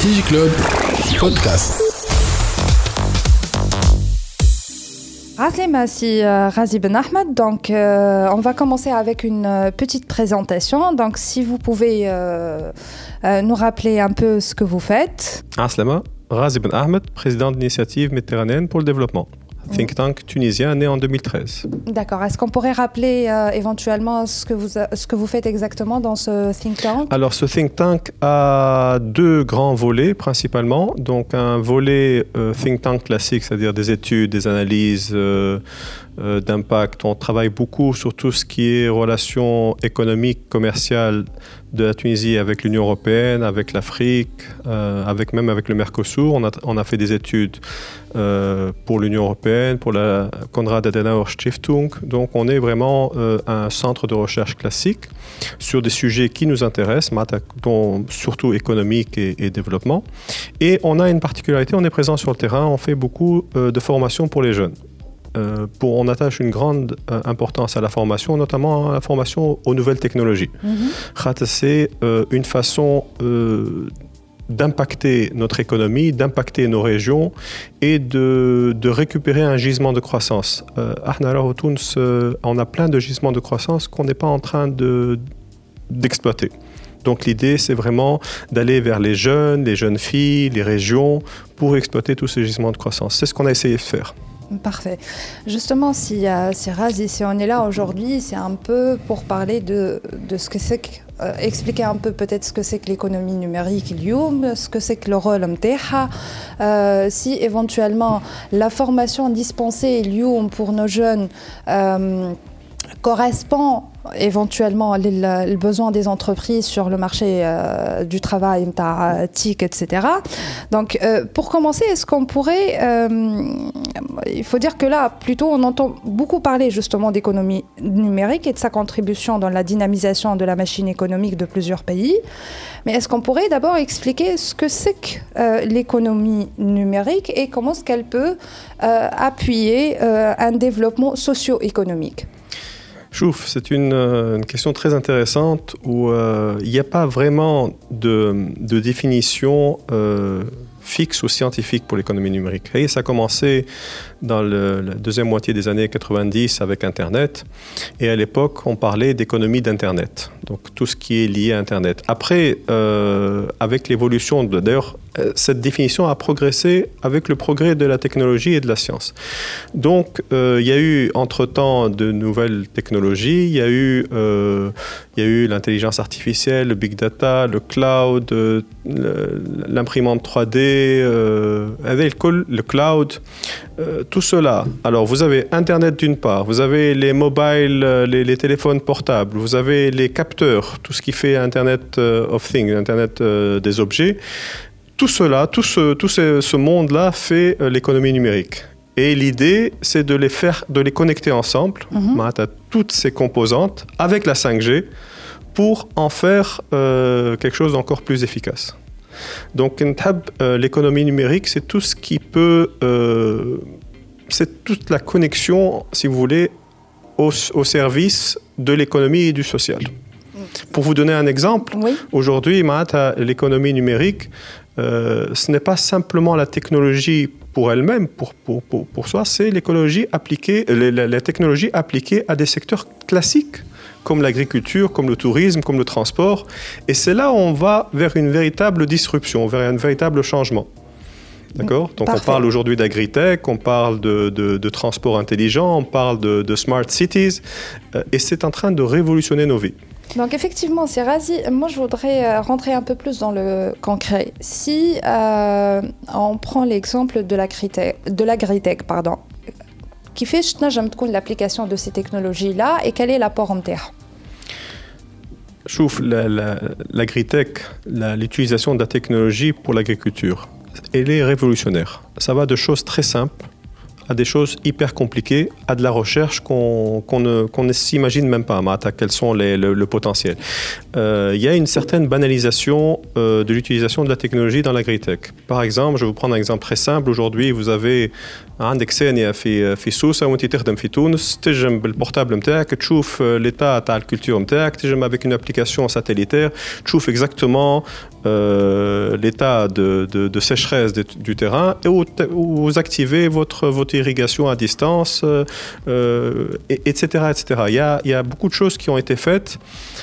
DigiClub Podcast. Aslima, c'est Razi Ben Ahmed. Donc, on va commencer avec une petite présentation. Donc, si vous pouvez nous rappeler un peu ce que vous faites. Aslima, Razi Ben Ahmed, président de l'initiative méditerranéenne pour le développement. Think tank tunisien né en 2013. D'accord. Est-ce qu'on pourrait rappeler éventuellement ce que vous faites exactement dans ce think tank? Alors, ce think tank a deux grands volets principalement. Donc, un volet think tank classique, c'est-à-dire des études, des analyses d'impact. On travaille beaucoup sur tout ce qui est relations économiques, commerciales de la Tunisie avec l'Union européenne, avec l'Afrique, même avec le Mercosur. On a fait des études pour l'Union européenne, pour la Konrad Adenauer Stiftung. Donc, on est vraiment un centre de recherche classique sur des sujets qui nous intéressent, dont surtout économique et développement. Et on a une particularité, on est présent sur le terrain, on fait beaucoup de formation pour les jeunes. On attache une grande importance à la formation, notamment à la formation aux nouvelles technologies. C'est une façon d'impacter notre économie, d'impacter nos régions et de récupérer un gisement de croissance. On a plein de gisements de croissance qu'on n'est pas en train d'exploiter. Donc l'idée, c'est vraiment d'aller vers les jeunes filles, les régions, pour exploiter tous ces gisements de croissance. C'est ce qu'on a essayé de faire. Parfait. Justement, si Razi, si on est là aujourd'hui, c'est un peu pour parler de ce que c'est expliquer un peu peut-être ce que c'est que l'économie numérique, ce que c'est que le rôle MTH, si éventuellement la formation dispensée pour nos jeunes correspond éventuellement aux besoins des entreprises sur le marché du travail, TIC, etc. Donc, pour commencer, est-ce qu'on pourrait... il faut dire que là, plutôt, on entend beaucoup parler justement d'économie numérique et de sa contribution dans la dynamisation de la machine économique de plusieurs pays. Mais est-ce qu'on pourrait d'abord expliquer ce que c'est que l'économie numérique et comment est-ce qu'elle peut appuyer un développement socio-économique ? Chouf, c'est une question très intéressante où il n'y a pas vraiment de définition fixe ou scientifique pour l'économie numérique. Et ça a commencé dans la deuxième moitié des années 90 avec Internet. Et à l'époque, on parlait d'économie d'Internet. Donc, tout ce qui est lié à Internet. Après, avec l'évolution, d'ailleurs, cette définition a progressé avec le progrès de la technologie et de la science. Donc, il y a eu, entre-temps, de nouvelles technologies. Il y a eu l'intelligence artificielle, le big data, le cloud, l'imprimante 3D, le cloud, tout cela. Alors, vous avez Internet d'une part, vous avez les mobiles, les téléphones portables, vous avez les capteurs, tout ce qui fait Internet of Things, Internet des objets. Tout cela, tout ce monde-là fait l'économie numérique. Et l'idée, c'est de les connecter ensemble, toutes ces composantes, avec la 5G, pour en faire quelque chose d'encore plus efficace. Donc, l'économie numérique, c'est tout ce qui peut... c'est toute la connexion, si vous voulez, au service de l'économie et du social. Pour vous donner un exemple, oui. Aujourd'hui, l'économie numérique, ce n'est pas simplement la technologie pour elle-même, pour soi, c'est l'écologie appliquée, la technologie appliquée à des secteurs classiques, comme l'agriculture, comme le tourisme, comme le transport. Et c'est là où on va vers une véritable disruption, vers un véritable changement. D'accord ? Donc, parfait. On parle aujourd'hui d'agritech, on parle de transport intelligent, on parle de smart cities, et c'est en train de révolutionner nos vies. Donc effectivement, c'est Razi. Moi, je voudrais rentrer un peu plus dans le concret. Si on prend l'exemple de l'agritech, qui fait l'application de ces technologies-là et quel est l'apport MTH ? Chouf, l'agritech, l'utilisation de la technologie pour l'agriculture, elle est révolutionnaire. Ça va de choses très simples à des choses hyper compliquées, à de la recherche qu'on ne s'imagine même pas, quels sont le potentiel. Il y a une certaine banalisation de l'utilisation de la technologie dans l'agritech. Par exemple, je vais vous prendre un exemple très simple. Aujourd'hui, vous avez عندك ثانية في سوسة وانت تخدم في تونس تجم بالبورتابل نتاعك تشوف l'état تاع الكولتور نتاعك تجم avec une application satellitaire تشوف exactement l'état de sécheresse du terrain et vous activez votre irrigation à distance etc. Il y a beaucoup de choses qui ont été faites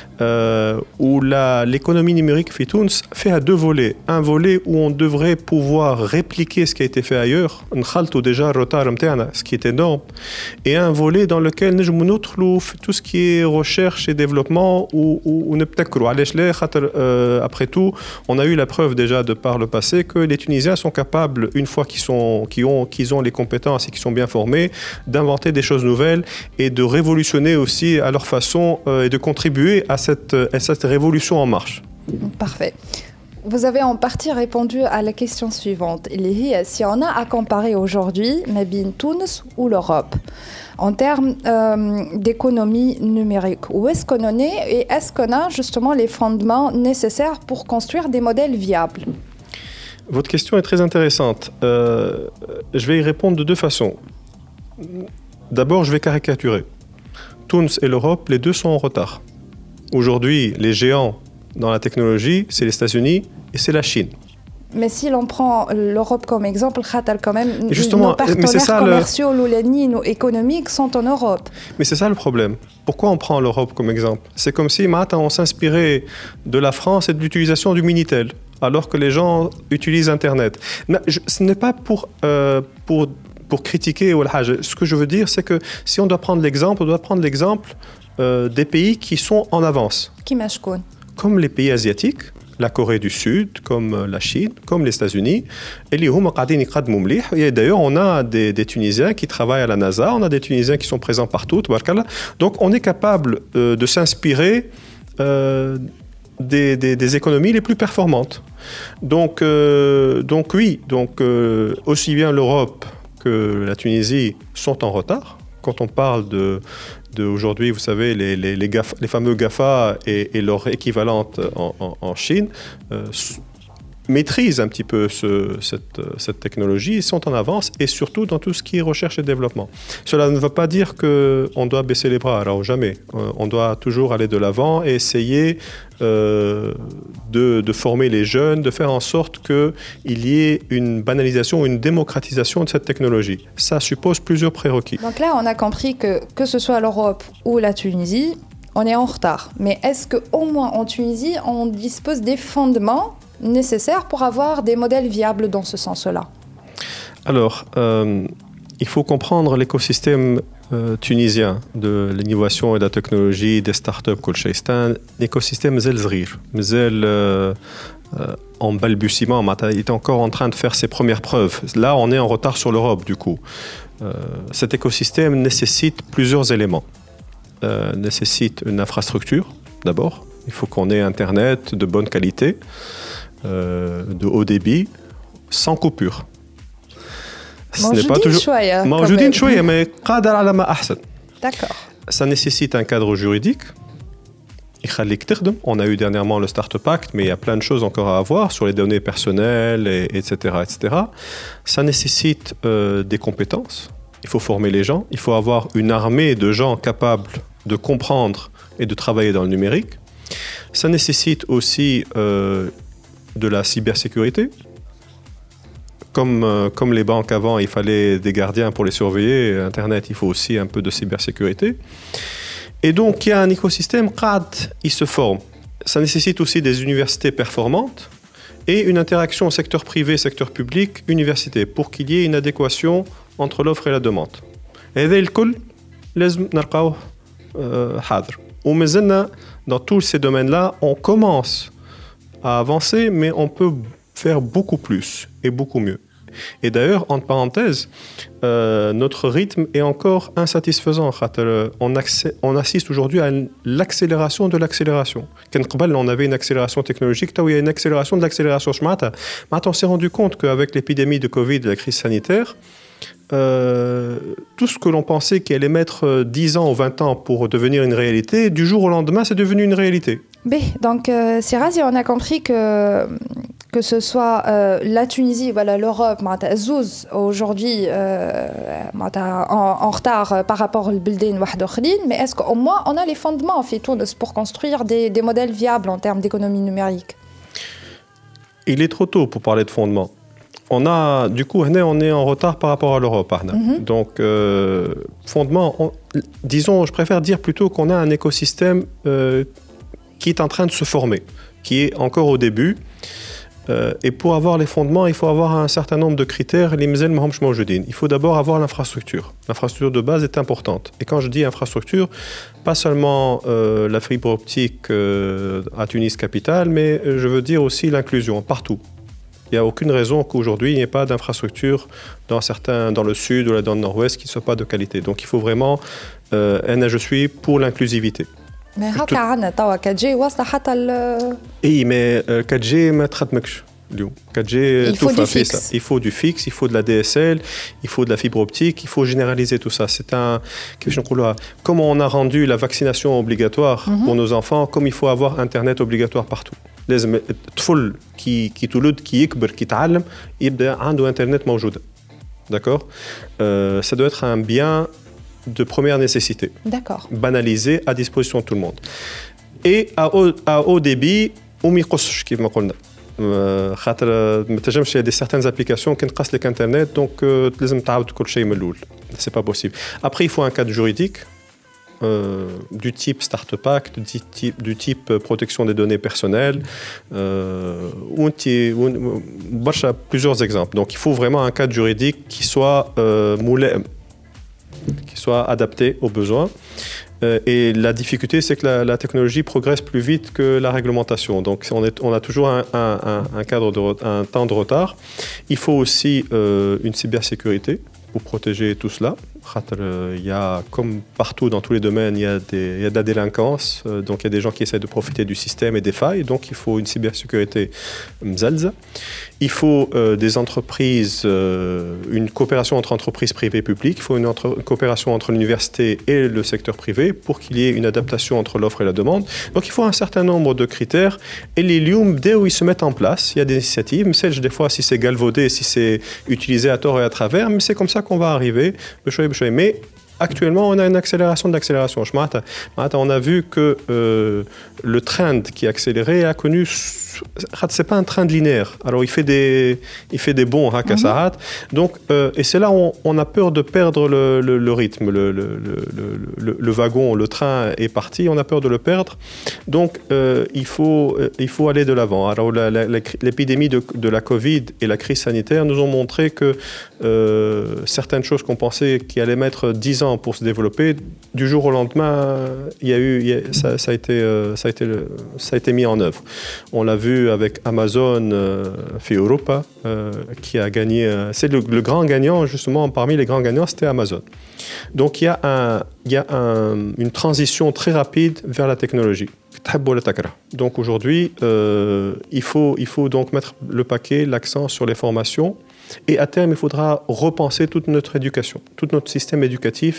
où l'économie numérique في تونس fait à deux volets. Un volet où on devrait pouvoir répliquer ce qui a été fait ailleurs, نخلطوا déjà retard نتاعنا, ce qui est énorme, et un volet dans lequel نجموا ندخلوا tout ce qui est recherche et développement ou نبتكروا علاش لا خاطر après tout on a eu la preuve déjà de par le passé que les Tunisiens sont capables une fois qu'ils ont les compétences et qu'ils sont bien formés d'inventer des choses nouvelles et de révolutionner aussi à leur façon et de contribuer à cette révolution en marche. Parfait. Vous avez en partie répondu à la question suivante. Si on a à comparer aujourd'hui Mabine Tunis ou l'Europe en termes d'économie numérique, où est-ce qu'on en est et est-ce qu'on a justement les fondements nécessaires pour construire des modèles viables? Votre question est très intéressante. Je vais y répondre de deux façons. D'abord, je vais caricaturer. Tunis et l'Europe, les deux sont en retard. Aujourd'hui, les géants dans la technologie, c'est les États-Unis et c'est la Chine. Mais si l'on prend l'Europe comme exemple, quand même, nos partenaires commerciaux ou économiques sont en Europe. Mais c'est ça le problème. Pourquoi on prend l'Europe comme exemple? C'est comme si on s'inspirait de la France et de l'utilisation du Minitel, alors que les gens utilisent Internet. Ce n'est pas pour critiquer. Ce que je veux dire, c'est que si on doit prendre l'exemple, on doit prendre l'exemple des pays qui sont en avance. Comme les pays asiatiques, la Corée du Sud, comme la Chine, comme les États-Unis. Et d'ailleurs, on a des Tunisiens qui travaillent à la NASA, on a des Tunisiens qui sont présents partout. Donc, on est capable de s'inspirer des économies les plus performantes. Donc oui, aussi bien l'Europe que la Tunisie sont en retard. Quand on parle aujourd'hui, vous savez, les fameux GAFA et leur équivalente en Chine maîtrisent un petit peu cette technologie, ils sont en avance et surtout dans tout ce qui est recherche et développement. Cela ne veut pas dire qu'on doit baisser les bras, alors jamais. On doit toujours aller de l'avant et essayer de former les jeunes, de faire en sorte qu'il y ait une banalisation, une démocratisation de cette technologie. Ça suppose plusieurs prérequis. Donc là, on a compris que ce soit l'Europe ou la Tunisie, on est en retard. Mais est-ce qu'au moins en Tunisie, on dispose des fondements nécessaires pour avoir des modèles viables dans ce sens-là? Alors, il faut comprendre l'écosystème tunisien de l'innovation et de la technologie, des startups, c'est un écosystème مازال en balbutiement, il est encore en train de faire ses premières preuves. Là, on est en retard sur l'Europe, du coup. Cet écosystème nécessite plusieurs éléments. Nécessite une infrastructure, d'abord. Il faut qu'on ait Internet de bonne qualité, de haut débit, sans coupure. Ce n'est pas toujours موجودين شوية mais قادر على ما أحسن. D'accord. Ça nécessite un cadre juridique. On a eu dernièrement le Startup Act, mais il y a plein de choses encore à avoir sur les données personnelles, etc., etc. Ça nécessite des compétences. Il faut former les gens. Il faut avoir une armée de gens capables de comprendre et de travailler dans le numérique. Ça nécessite aussi de la cybersécurité. Comme les banques avant, il fallait des gardiens pour les surveiller. Internet, il faut aussi un peu de cybersécurité. Et donc, il y a un écosystème, il se forme. Ça nécessite aussi des universités performantes et une interaction secteur privé, secteur public, université, pour qu'il y ait une adéquation entre l'offre et la demande. Et dans tous ces domaines-là, on commence à avancer, mais on peut faire beaucoup plus et beaucoup mieux. Et d'ailleurs, entre parenthèses, notre rythme est encore insatisfaisant. On assiste aujourd'hui à l'accélération de l'accélération. On avait une accélération technologique, il y a une accélération de l'accélération. On s'est rendu compte qu'avec l'épidémie de Covid, la crise sanitaire, tout ce que l'on pensait qu'il allait mettre 10 ans ou 20 ans pour devenir une réalité, du jour au lendemain, c'est devenu une réalité. Bien, donc, Sirazi, on a compris que ce soit la Tunisie, voilà, l'Europe, Zouz, aujourd'hui, en retard par rapport au Bildin Wahdokhlin, mais est-ce qu'au moins on a les fondements en fait, pour construire des modèles viables en termes d'économie numérique? Il est trop tôt pour parler de fondements. Du coup, on est en retard par rapport à l'Europe. Donc, fondement, disons, je préfère dire plutôt qu'on a un écosystème qui est en train de se former, qui est encore au début. Et pour avoir les fondements, il faut avoir un certain nombre de critères. Il faut d'abord avoir l'infrastructure. L'infrastructure de base est importante. Et quand je dis infrastructure, pas seulement la fibre optique à Tunis capitale, mais je veux dire aussi l'inclusion partout. Il n'y a aucune raison qu'aujourd'hui, il n'y ait pas d'infrastructure dans le sud ou dans le nord-ouest qui ne soit pas de qualité. Donc il faut vraiment, je suis pour l'inclusivité. Mais هكا 4G واصله حتى اي مي 4G ما تخدمكش اليوم 4G tout fait ça. Il faut du fixe, il faut de la DSL, il faut de la fibre optique, il faut généraliser tout ça. C'est comme on a rendu la vaccination obligatoire pour nos enfants, comme il faut avoir internet obligatoire partout. لازم الطفل كي تولد كي يكبر كي يتعلم يبدا عنده انترنت موجوده. D'accord, ça doit être un bien de première nécessité. D'accord. Banalisé à disposition de tout le monde. Et à haut débit, on m'y coche, comme on dit. Il y a certaines applications qui ne cassent les internet, donc c'est pas possible. Après, il faut un cadre juridique du type Start-up Act, du type protection des données personnelles. Plusieurs exemples. Donc, il faut vraiment un cadre juridique qui soit adapté aux besoins. Et la difficulté, c'est que la technologie progresse plus vite que la réglementation. Donc, on a toujours un temps de retard. Il faut aussi une cybersécurité pour protéger tout cela. Il y a, comme partout dans tous les domaines, il y a de la délinquance. Donc, il y a des gens qui essaient de profiter du système et des failles. Donc, il faut une cybersécurité mzalza. Il faut des entreprises, une coopération entre entreprises privées et publiques. Il faut une coopération entre l'université et le secteur privé pour qu'il y ait une adaptation entre l'offre et la demande. Donc, il faut un certain nombre de critères. Et les liums, dès où ils se mettent en place, il y a des initiatives. Mais des fois, si c'est galvaudé, si c'est utilisé à tort et à travers, mais c'est comme ça qu'on va arriver. Mais actuellement, on a une accélération de l'accélération. On a vu que le trend qui est accéléré a connu... C'est pas un trend linéaire. Alors, il fait des bonds, Donc, et c'est là où on a peur de perdre le rythme. Le wagon, le train est parti, on a peur de le perdre. Donc, il faut aller de l'avant. Alors, l'épidémie de la Covid et la crise sanitaire nous ont montré que certaines choses qu'on pensait qui allaient mettre 10 ans pour se développer, du jour au lendemain, ça a été mis en œuvre. On l'a vu avec Amazon fait Europa qui a gagné. C'est le grand gagnant, justement, parmi les grands gagnants, c'était Amazon. Donc il y a une transition très rapide vers la technologie. Donc aujourd'hui, il faut donc mettre le paquet, l'accent sur les formations. Et à terme, il faudra repenser toute notre éducation, tout notre système éducatif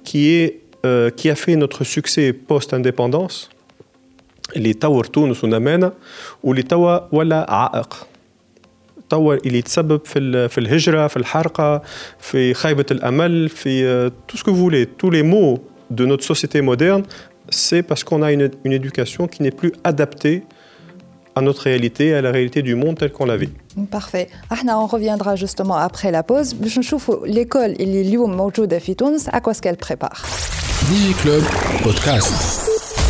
qui a fait notre succès post-indépendance. اللي طور تونس ونمانا واللي توا ولا عائق اللي يتسبب في الهجرة في الحرقة في خيبة الأمل في tout ce que vous voulez, tous les maux de notre société moderne, c'est parce qu'on a une éducation qui n'est plus adaptée à notre réalité, à la réalité du monde tel qu'on la vit. Parfait. On reviendra justement après la pause. باش نشوفوا l'école اللي اليوم موجودة في تونس à quoi est-ce qu'elle prépare. DigiClub Podcast.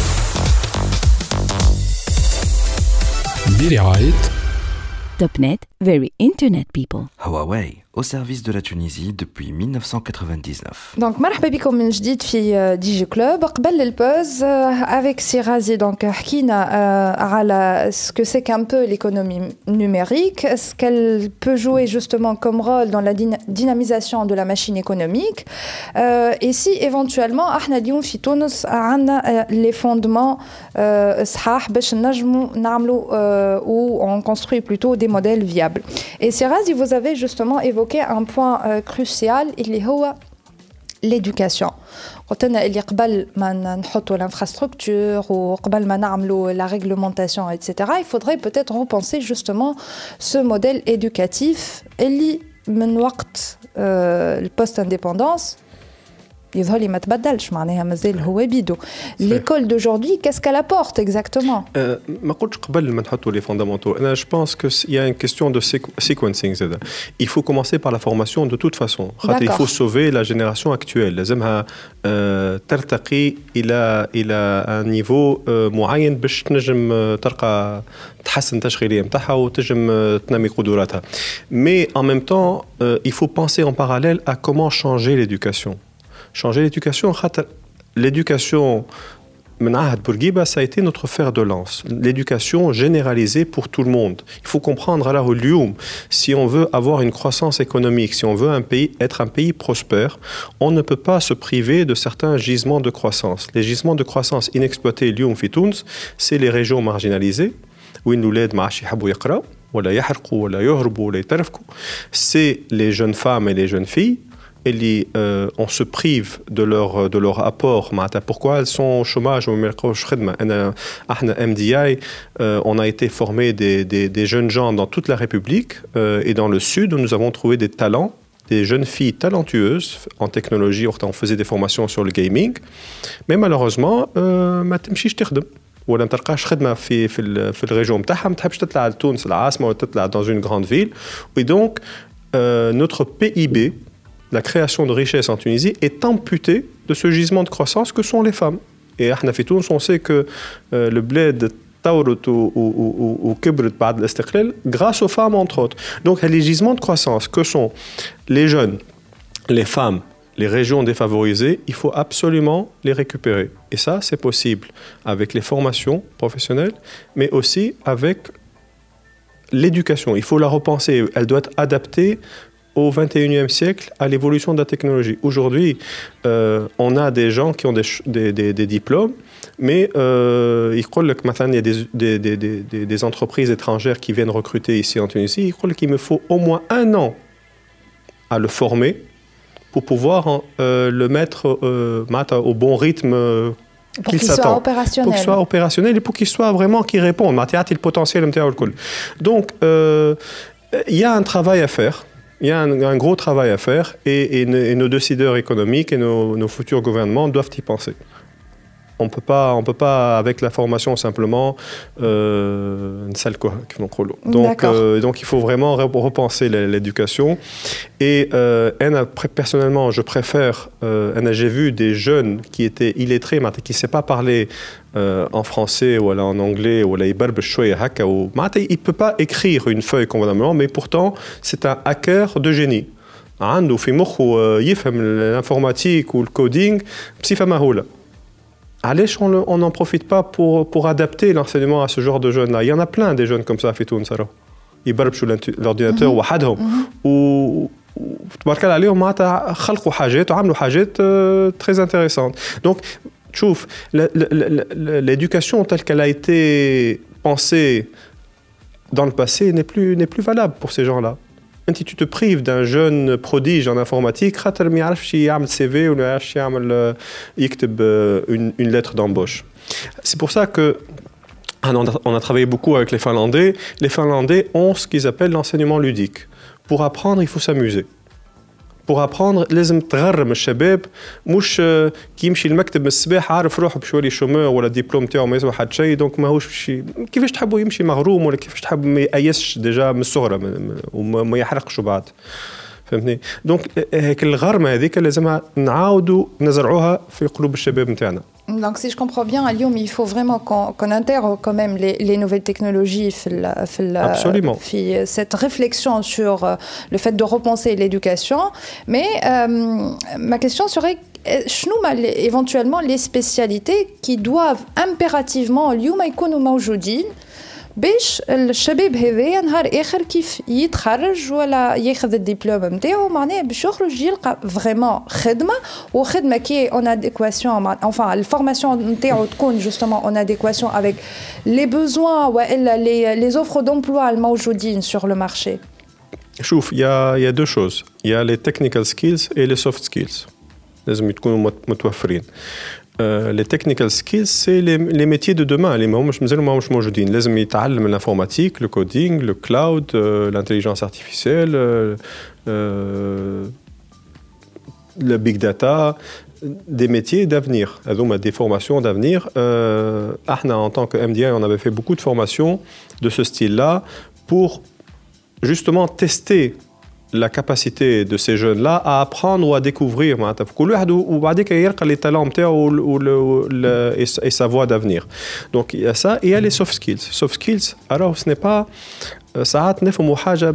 Topnet, very internet people. Huawei, au service de la Tunisie depuis 1999. Donc, مرحبا بكم من جديد في ديجي كلوب. قبل البوز avec Sirazi, donc حكينا على ce que c'est qu'un peu l'économie numérique, ce qu'elle peut jouer justement comme rôle dans la dynamisation de la machine économique. Et si éventuellement احنا اليوم في تونس عندنا les fondements صحاح باش نجموا نعملوا ou on construit plutôt des modèles viables. variables. Et Sirazi, vous avez justement évoqué un point crucial, il est l'éducation. قلت لنا اللي قبل ما نحطوا l'infrastructure وقبل ما نعملوا la réglementation etc. il faudrait peut-être repenser justement ce modèle éducatif اللي من وقت البوست indépendance يظهر لي ما تبدلش معناها مازال هو بيدو. L'école d'aujourd'hui, qu'est-ce qu'elle apporte exactement? ما قلتش قبل ما نحطوا les fondamentaux. أنا je pense que il y a une question de sequencing زادا. Il faut commencer par la formation de toute façon. Il faut sauver la génération actuelle. لازمها ترتقي إلى un niveau معين باش تنجم تلقى تحسن التشغيلية متاعها وتنجم تنمي قدراتها. Mais en même temps, il faut penser en parallèle à comment changer l'éducation. Changer l'éducation, l'éducation, ça a été notre fer de lance. L'éducation généralisée pour tout le monde. Il faut comprendre, alors, si on veut avoir une croissance économique, si on veut être un pays prospère, on ne peut pas se priver de certains gisements de croissance. Les gisements de croissance inexploités, c'est les régions marginalisées, où ils nous l'aident, c'est les jeunes femmes et les jeunes filles. On se prive de leur apport. Pourquoi elles sont au chômage? MDI, on a été formé des jeunes gens dans toute la République et dans le Sud où nous avons trouvé des talents, des jeunes filles talentueuses en technologie. On faisait des formations sur le gaming, mais malheureusement, ما تمشيش تخدم ولا ما تلقاش خدمة في الريجون نتاعها، ما تحبش تطلع لتونس العاصمة ولا تطلع dans une grande ville. Et donc notre PIB, la création de richesse en Tunisie est amputée de ce gisement de croissance que sont les femmes. Et à Tunis, on sait que le bled taourut ou kibrit بعد الاستقلال grâce aux femmes entre autres. Donc les gisements de croissance que sont les jeunes, les femmes, les régions défavorisées, il faut absolument les récupérer. Et ça, c'est possible avec les formations professionnelles, mais aussi avec l'éducation. Il faut la repenser. Elle doit être adaptée au XXIe siècle à l'évolution de la technologie. Aujourd'hui, on a des gens qui ont des diplômes, mais il y a des entreprises étrangères qui viennent recruter ici en Tunisie. Il croit qu'il me faut au moins 1 an à le former pour pouvoir le mettre au bon rythme pour qu'il soit opérationnel. Pour qu'il soit opérationnel et pour qu'il soit vraiment qu'il réponde. Le potentiel. Donc, il y a un travail à faire. Il y a un gros travail à faire et nos décideurs économiques et nos futurs gouvernements doivent y penser. On peut pas avec la formation simplement donc il faut vraiment repenser l'éducation et personnellement je préfère j'ai vu des jeunes qui étaient illettrés mais qui ne sait pas parler en français ou en anglais ou il ne peut pas écrire une feuille convenablement mais pourtant c'est un hacker de génie. عنده في مخه يفهم l'informatique ou le coding بصفة مهولة. Allez, on n'en profite pas pour adapter l'enseignement à ce genre de jeunes-là. Il y en a plein des jeunes comme ça à Tunis. Ils بربشوا l'ordinateur وحدهم وتبارك الله عليهم معناتها خلقوا حاجات وعملوا حاجات très intéressantes. Donc, تشوف l'éducation telle qu'elle a été pensée dans le passé n'est plus valable pour ces gens-là. Tu te prives d'un jeune prodige en informatique, خاطر ما يعرفش يعمل CV ولا يعرفش يعمل يكتب une lettre d'embauche. C'est pour ça que on a travaillé beaucoup avec les Finlandais. Les Finlandais ont ce qu'ils appellent l'enseignement ludique. Pour apprendre, il faut s'amuser. Pour apprendre, لازم تغرم الشباب مش كي يمشي المكتب من الصباح عارف روحه باش يولي شومور ولا الدبلوم تاعو ما يسوى حد شيء دونك ماهوش كيفاش تحبوا يمشي مغروم ولا كيفاش تحب ما يأيسش ديجا من الصغرى وما يحرقش بعد فهمتني دونك هيك الغرمه هذيك لازمها نعاودوا نزرعوها في قلوب الشباب نتاعنا. Donc, si je comprends bien, à Lyon, il faut vraiment qu'on intègre quand même les nouvelles technologies, cette réflexion sur le fait de repenser l'éducation. Mais ma question serait, éventuellement les spécialités qui doivent impérativement, Lyon, يكونوا موجودين باش الشباب هذايا نهار اخر كيف يتخرج ولا ياخذ الدبلوم نتاعو معناها باش يخرج يلقى فريمون خدمه وخدمه كي اون اديكواسيون enfin الفورماسيون نتاعو تكون جوستومون اون اديكواسيون avec les besoins والا les offres d'emploi الموجودين sur le marché. شوف il y a deux choses. Il y a les technical skills et les soft skills. لازم يكونوا متوفرين. Les technical skills, c'est les métiers de demain. Les مش موجودين. لازم يتعلم l'informatique, le coding, le cloud, l'intelligence artificielle, le big data, des métiers d'avenir. Des formations d'avenir. En tant que MDI, on avait fait beaucoup de formations de ce style-là pour justement tester la capacité de ces jeunes-là à apprendre ou à découvrir les talents et sa voie d'avenir. Donc il y a ça et il y a les soft skills. Soft skills, alors ce n'est pas ساعات نفهموا حاجة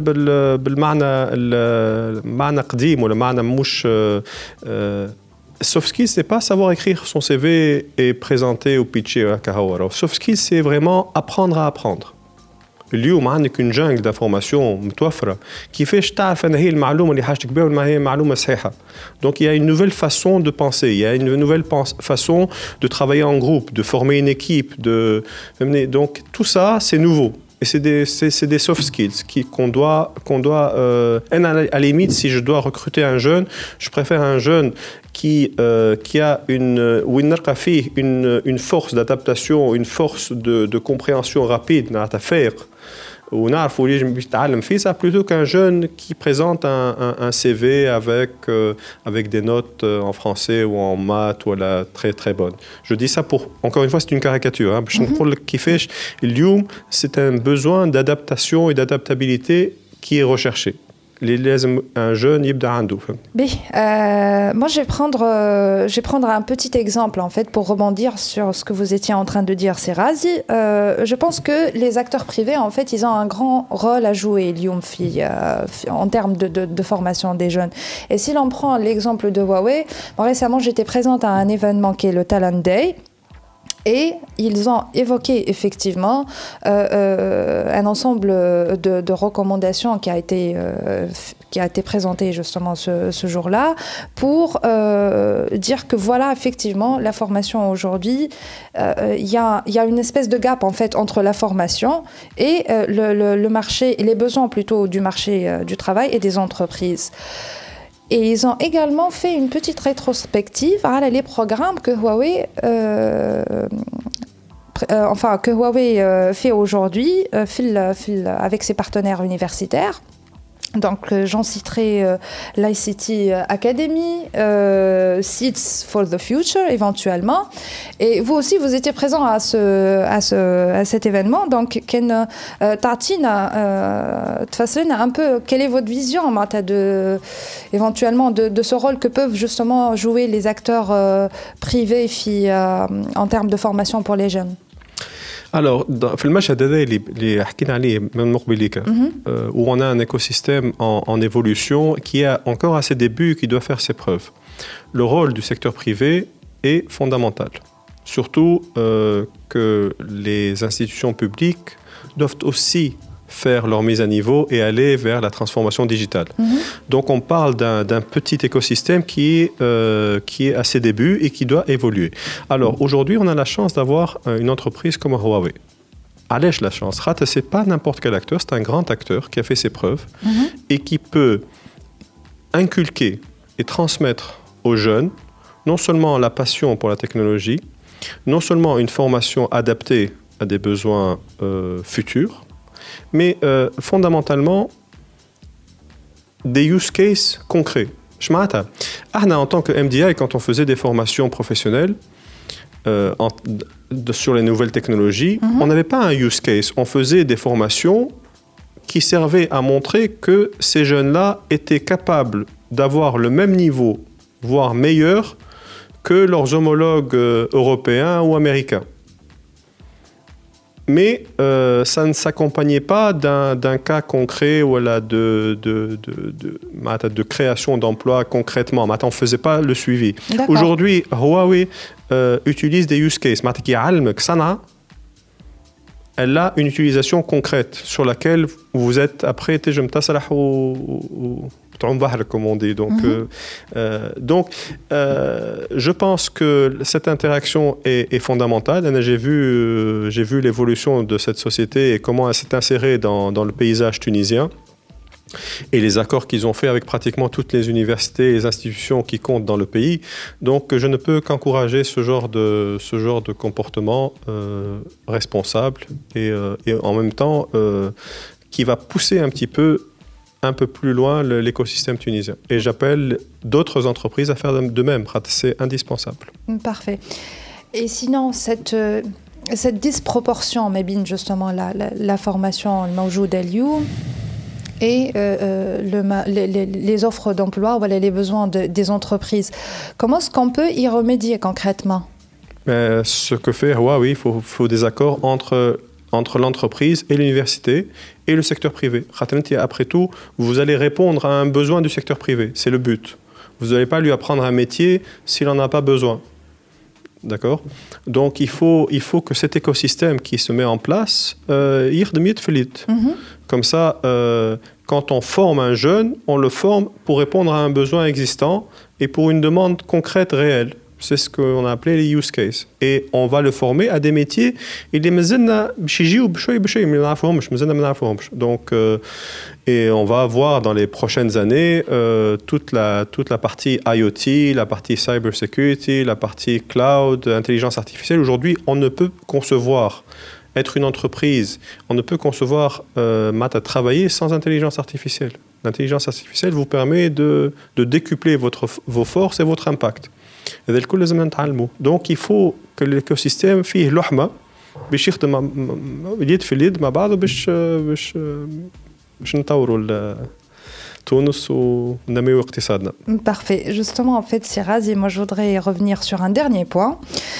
بالمعنى قديم ولا معنى مش soft skills, c'est pas savoir écrire son CV et présenter ou pitcher. Soft skills, c'est vraiment apprendre à apprendre. اليوم عندك une jungle d'informations متوفرة كيفاش تعرف أن هي المعلومة اللي حاجتك بها ولا هي معلومة صحيحة. Donc il y a une nouvelle façon de penser, il y a une nouvelle façon de travailler en groupe, de former une équipe, donc tout ça c'est nouveau. Et c'est des soft skills qu'on doit à la limite, si je dois recruter un jeune, je préfère un jeune qui a une force d'adaptation, une force de compréhension rapide à faire. ونعرفوا اللي باش يتعلم فيه ça plutôt qu'un jeune qui présente un CV avec des notes en français ou en maths ou la très très bonne. Je dis ça pour encore une fois c'est une caricature باش نقول لك كيفاش اليوم c'est un besoin d'adaptation et d'adaptabilité qui est recherché. لازم un jeune يبدا عنده. Moi je vais prendre un petit exemple en fait pour rebondir sur ce que vous étiez en train de dire Serazi. Je pense que les acteurs privés en fait ils ont un grand rôle à jouer en termes de formation des jeunes. Et si l'on prend l'exemple de Huawei, récemment j'étais présente à un événement qui est le Talent Day. Et ils ont évoqué effectivement un ensemble de recommandations qui a été présenté justement ce jour-là pour dire que voilà effectivement la formation aujourd'hui il y a une espèce de gap en fait entre la formation et le marché et les besoins plutôt du marché du travail et des entreprises. Et ils ont également fait une petite rétrospective à les programmes que Huawei fait aujourd'hui avec ses partenaires universitaires. Donc j'en citerai l'ICT Academy, Seeds for the Future éventuellement. Et vous aussi vous étiez présent à cet événement. Donc Tatina, تفسرنا un peu quelle est votre vision éventuellement de ce rôle que peuvent justement jouer les acteurs privés en termes de formation pour les jeunes. Alors, في المشهد هذا اللي حكينا عليه من مقبليك où on a un écosystème en évolution qui est encore à ses débuts qui doit faire ses preuves. Le rôle du secteur privé est fondamental. Surtout que les institutions publiques doivent aussi faire leur mise à niveau et aller vers la transformation digitale. Donc on parle d'un petit écosystème qui est à ses débuts et qui doit évoluer. Alors aujourd'hui, on a la chance d'avoir une entreprise comme Huawei. Allez, la chance. C'est pas n'importe quel acteur, c'est un grand acteur qui a fait ses preuves et qui peut inculquer et transmettre aux jeunes non seulement la passion pour la technologie, non seulement une formation adaptée à des besoins futurs, mais fondamentalement des use cases concrets. En tant que MDI, quand on faisait des formations professionnelles sur les nouvelles technologies, on n'avait pas un use case. On faisait des formations qui servaient à montrer que ces jeunes-là étaient capables d'avoir le même niveau, voire meilleur, que leurs homologues européens ou américains. Mais ça ne s'accompagnait pas d'un cas concret voilà, de création d'emplois concrètement. On ne faisait pas le suivi. Aujourd'hui, Huawei utilise des use cases. elle a une utilisation concrète sur laquelle vous êtes après comme on dit. Donc, je pense que cette interaction est fondamentale. J'ai vu l'évolution de cette société et comment elle s'est insérée dans le paysage tunisien et les accords qu'ils ont fait avec pratiquement toutes les universités et les institutions qui comptent dans le pays. Donc, je ne peux qu'encourager ce genre de comportement responsable et en même temps qui va pousser un peu plus loin l'écosystème tunisien. Et j'appelle d'autres entreprises à faire de même. C'est indispensable. Parfait. Et sinon, cette disproportion, Mabine, justement, la formation, le mawjoud al-youm, et les offres d'emploi, voilà, les besoins des entreprises. Comment est-ce qu'on peut y remédier concrètement? Ce que fait Huawei, il faut des accords entre l'entreprise et l'université et le secteur privé. Après tout, vous allez répondre à un besoin du secteur privé. C'est le but. Vous n'allez pas lui apprendre un métier s'il n'en a pas besoin. D'accord? Donc, il faut que cet écosystème qui se met en place, comme ça, quand on forme un jeune, on le forme pour répondre à un besoin existant et pour une demande concrète, réelle. C'est ce qu'on a appelé les use cases. Et on va le former à des métiers. Donc, et on va avoir dans les prochaines années toute la partie IoT, la partie cybersecurity, la partie cloud, intelligence artificielle. Aujourd'hui, on ne peut concevoir être une entreprise, on ne peut concevoir travailler sans intelligence artificielle. L'intelligence artificielle vous permet de décupler vos forces et votre impact. Donc il faut que l'écosystème فيه لحمة باش يخدم يد في اليد مع بعض باش نطوروا تونس وننميو اقتصادنا. Parfait. Justement, en fait, Siraz, et moi je voudrais revenir sur un dernier point.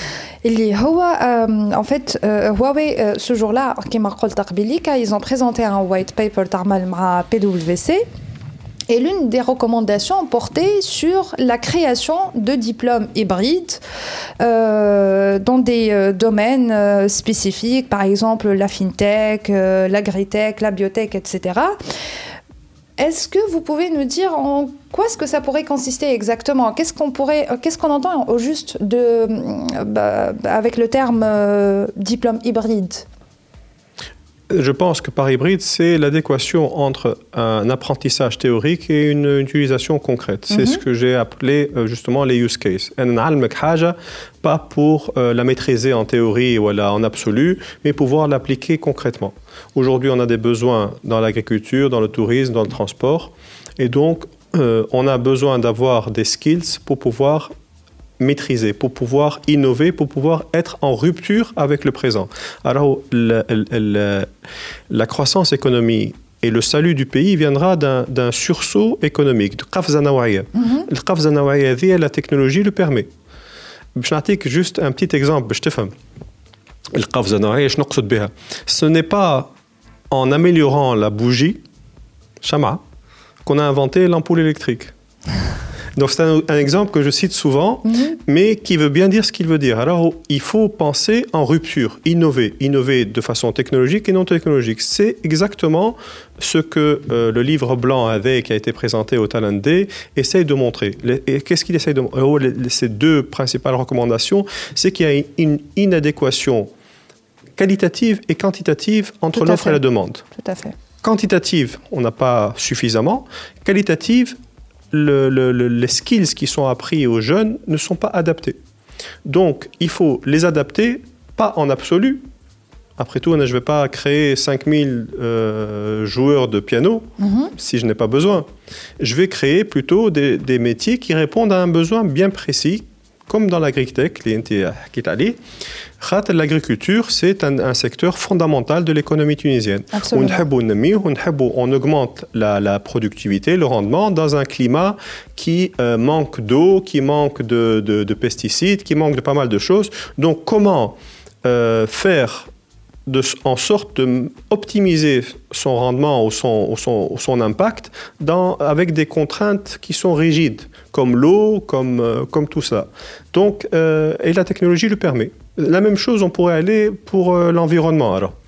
En fait, Huawei, ce jour-là, ils ont présenté un white paper تعمل مع PwC. Et l'une des recommandations portait sur la création de diplômes hybrides dans des domaines spécifiques, par exemple la fintech, l'agritech, la biotech, etc. Est-ce que vous pouvez nous dire en quoi est-ce que ça pourrait consister exactement? Qu'est-ce qu'on entend au juste avec le terme diplôme hybride? Je pense que par hybride, c'est l'adéquation entre un apprentissage théorique et une utilisation concrète. C'est ce que j'ai appelé justement les use cases. Pas pour la maîtriser en théorie ou en absolu, mais pouvoir l'appliquer concrètement. Aujourd'hui, on a des besoins dans l'agriculture, dans le tourisme, dans le transport. Et donc, on a besoin d'avoir des skills pour pouvoir maîtriser, pour pouvoir innover, pour pouvoir être en rupture avec le présent. Alors, la croissance économique et le salut du pays viendra d'un sursaut économique, de قفزة نوعية. القفزة النوعية هذه, la technologie le permet. باش نعطيك juste un petit exemple باش تفهم. القفزة النوعية ايش نقصد بها؟ Ce n'est pas en améliorant la bougie, شمعة, qu'on a inventé l'ampoule électrique. Donc c'est un exemple que je cite souvent, mais qui veut bien dire ce qu'il veut dire. Alors il faut penser en rupture, innover de façon technologique et non technologique. C'est exactement ce que le livre blanc qui a été présenté au Talent Day essaye de montrer. Et qu'est-ce qu'il essaye de montrer? Ces deux principales recommandations, c'est qu'il y a une inadéquation qualitative et quantitative entre l'offre et la demande. Tout à fait. Quantitative, on n'a pas suffisamment. Qualitative, les skills qui sont appris aux jeunes ne sont pas adaptés. Donc, il faut les adapter, pas en absolu. Après tout, je ne vais pas créer 5000 joueurs de piano si je n'ai pas besoin. Je vais créer plutôt des métiers qui répondent à un besoin bien précis, comme dans l'agritech, l'agriculture, c'est un secteur fondamental de l'économie tunisienne. On augmente la productivité, le rendement dans un climat qui manque d'eau, qui manque de pesticides, qui manque de pas mal de choses. Donc, comment faire en sorte d'optimiser son rendement ou son impact avec des contraintes qui sont rigides, comme l'eau, comme tout ça. Donc, et la technologie le permet. La même chose, on pourrait aller pour l'environnement. Alors,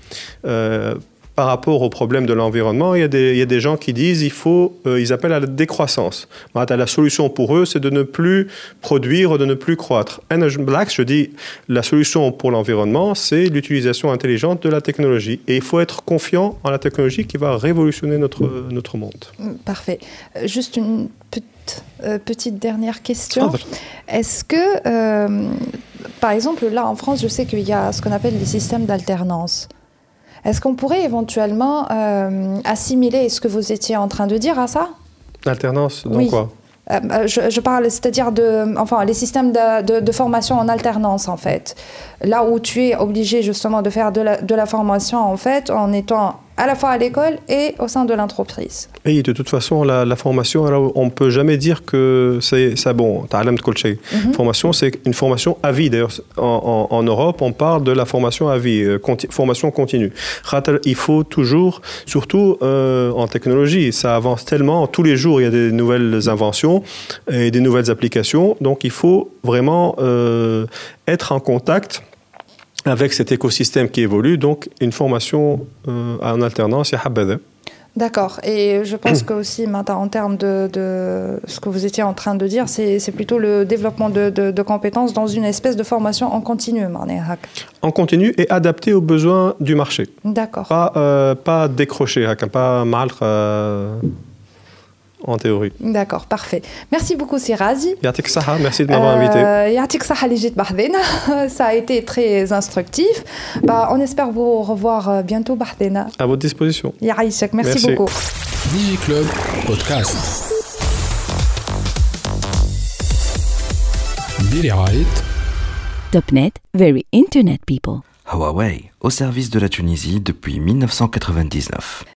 Par rapport au problème de l'environnement, il y a des gens qui disent ils appellent à la décroissance. La solution pour eux, c'est de ne plus produire, de ne plus croître. Je dis la solution pour l'environnement, c'est l'utilisation intelligente de la technologie. Et il faut être confiant en la technologie qui va révolutionner notre monde. Parfait. Juste une petite dernière question. Est-ce que, par exemple, là en France, je sais qu'il y a ce qu'on appelle les systèmes d'alternance. Est-ce qu'on pourrait éventuellement assimiler ce que vous étiez en train de dire à ça? L'alternance, donc oui. Quoi je parle, c'est-à-dire les systèmes de formation en alternance, en fait. Là où tu es obligé justement de faire de la formation, en fait, en étant à la fois à l'école et au sein de l'entreprise. Et de toute façon, la formation, alors, on ne peut jamais dire que c'est ça. Bon, formation, c'est une formation à vie. D'ailleurs, en Europe, on parle de la formation à vie, formation continue. Il faut toujours, surtout en technologie, ça avance tellement. Tous les jours, il y a des nouvelles inventions et des nouvelles applications. Donc, il faut vraiment être en contact avec cet écosystème qui évolue, donc une formation en alternance, il y a habada. D'accord. Et je pense que aussi, en termes de ce que vous étiez en train de dire, c'est plutôt le développement de compétences dans une espèce de formation en continu. En continu et adapté aux besoins du marché. D'accord. Pas décroché, pas mal en théorie. D'accord, parfait. Merci beaucoup, Sirazi. Yatik Saha, merci de m'avoir invité. Yatik Saha, Ligit Bahdena. Ça a été très instructif. On espère vous revoir bientôt, Bahdena. À votre disposition. Yaïchak, merci beaucoup. DigiClub Podcast. Topnet, very internet people. Huawei, au service de la Tunisie depuis 1999.